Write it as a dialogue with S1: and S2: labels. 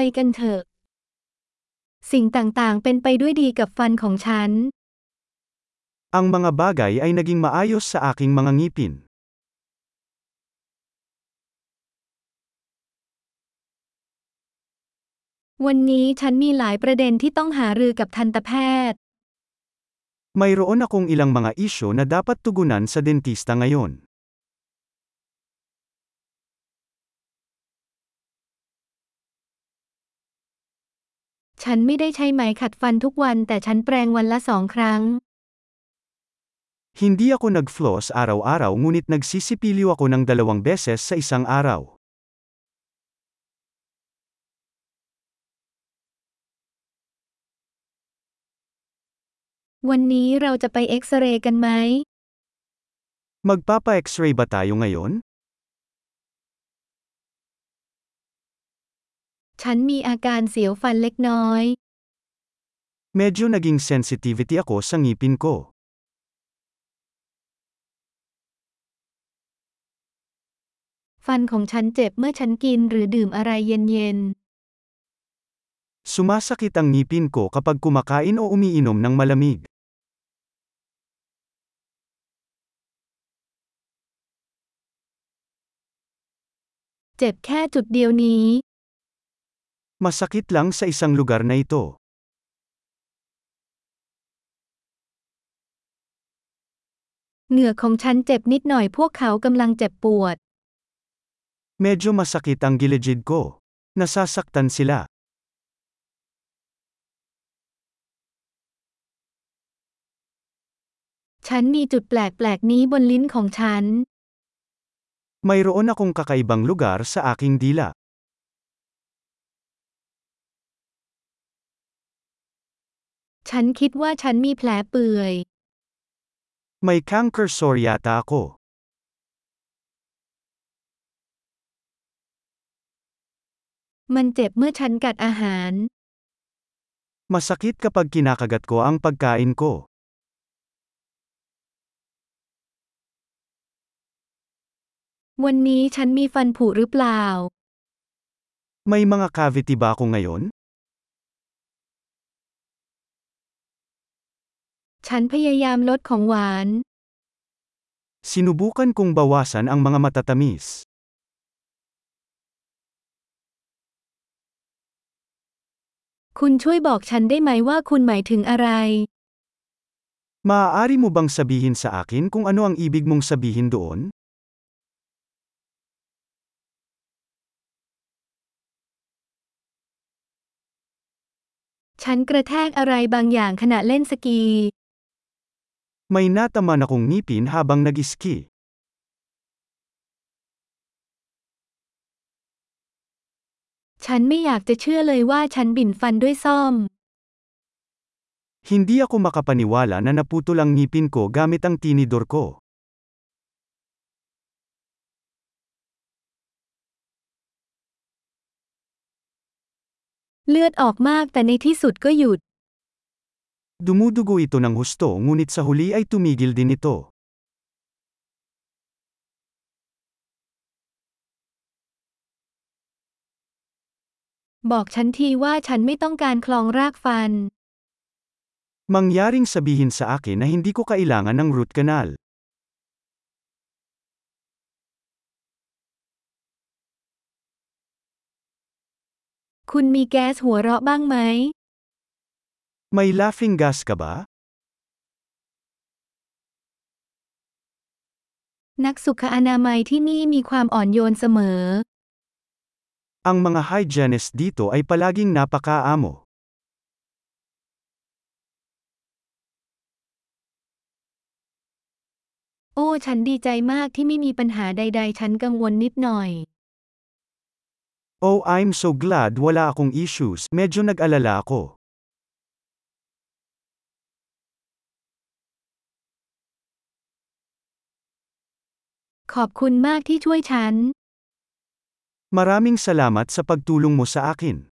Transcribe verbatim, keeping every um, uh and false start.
S1: กันเถอะสิ่งต่างๆเป็นไปด้วยดีกับฟันของฉัน
S2: Ang mga bagay ay naging maayos sa aking mga ngipin.
S1: วันนี้ฉันมีหลายประเด็นที่ต้องหารือกับทันตแพทย์
S2: Mayroon akong ilang mga isyu na dapat tugunan sa dentista ngayon.
S1: ฉันไม่ได้ใช้ไหมขัดฟันทุกวันแต่ฉันแปรงวันละสองครั้ง
S2: Hindi ako nag-floss araw-araw ngunit nagsisipilyo ako ng dalawang beses sa isang araw.
S1: วันนี้เราจะไปเอ็กซเรย์กันไหม
S2: Magpapa-x-ray ba tayo ngayon?
S1: ฉันมีอาการเสียวฟันเล็กน้อย
S2: Medyo naging sensitivity ako sa ngipin ko.
S1: ฟันของฉันเจ็บเมื่อฉันกินหรือดื่มอะไรเย็น
S2: Sumasakit ang ngipin ko kapag kumakain o umiinom ng malamig.
S1: ๆ เจ็บแค่จุดเดียวนี้
S2: Masakit lang sa isang lugar na ito.
S1: เหงือกของฉันเจ็บนิดหน่อยพวกเขากำลังเจ็บปวด
S2: Medyo masakit ang gilid ko. Nasasaktan sila.
S1: ฉันมีจุดแปลกๆนี้บนลิ้นของฉัน
S2: Mayroon akong kakaibang lugar sa aking dila.
S1: ฉันคิดว่าฉันมีแผลเปื่อย
S2: May canker sore yata ako.
S1: มันเจ็บเมื่อฉันกัดอาหาร
S2: Masakit kapag kinakagat ko ang pagkain ko.
S1: วันนี้ฉันมีฟันผุหรือเปล่า
S2: May mga cavity ba ako ngayon?
S1: ฉันพยายามลดของหวาน
S2: Sinubukan kong bawasan ang mga matatamis.
S1: คุณช่วยบอกฉันได้ไหมว่าคุณหมายถึงอะไร
S2: Maaari mo bang sabihin sa akin kung ano ang ibig mong sabihin doon?
S1: ฉันกระแทกอะไรบางอย่างขณะเล่นสกี
S2: May nataman akong ngipin habang nag-ski.
S1: ฉันไม่อยากจะเชื่อเลยว่าฉันบิ่นฟันด้วยซ่อม
S2: Hindi ako makapaniwala na naputol ang ngipin ko gamit ang tinidor ko.
S1: เลือดออกมากแต่ในที่สุดก็หยุด
S2: Dumudugo ito ng husto ngunit sa huli ay tumigil din ito.
S1: บอกฉันทีว่าฉันไม่ต้องการคลองรากฟัน
S2: Mangyaring sabihin sa akin na hindi ko kailangan ng root canal.
S1: คุณมีแก๊สหัวเราะบ้างไหม
S2: May laughing gas ka ba?
S1: นักสุขอนามัยที่นี่มีความอ่อนโยนเสมอ
S2: Ang mga hygienist dito ay palaging napakaamo.
S1: โอ้ฉันดีใจมากที่ไม่มีปัญหาใดๆฉันกังวลนิดหน่อย
S2: Oh, I'm so glad wala akong issues. Medyo nag-alala ako.
S1: ขอบคุณมากที่ช่วยฉัน
S2: Maraming salamat sa pagtulong mo sa akin.